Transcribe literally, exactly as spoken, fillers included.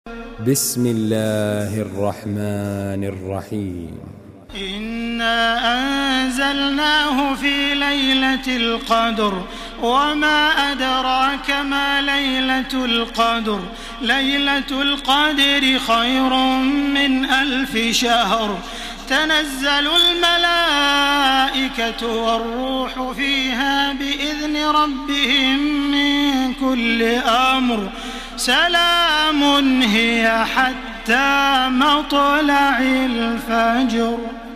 بسم الله الرحمن الرحيم. إنا أنزلناه في ليلة القدر وما أدراك ما ليلة القدر ليلة القدر خير من ألف شهر تنزل الملائكة والروح فيها بإذن ربهم من كل أمر سلام هي حتى مطلع الفجر.